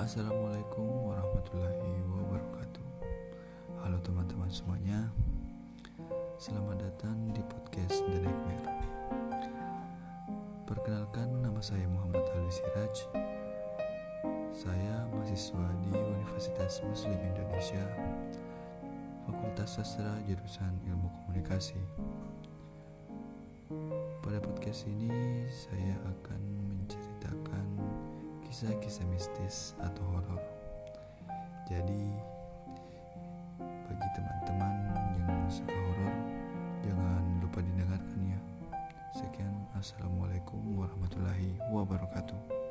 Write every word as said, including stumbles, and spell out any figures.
Assalamualaikum warahmatullahi wabarakatuh. Halo teman-teman semuanya, selamat datang di podcast The Nightmare. Perkenalkan, nama saya Muhammad Alwi Siraj. Saya mahasiswa di Universitas Muslim Indonesia, Fakultas Sastra jurusan Ilmu Komunikasi. Pada podcast ini saya akan menceritakan kisah-kisah mistis atau horor. Jadi bagi teman-teman yang suka horor, jangan lupa didengarkan ya. Sekian, assalamualaikum warahmatullahi wabarakatuh.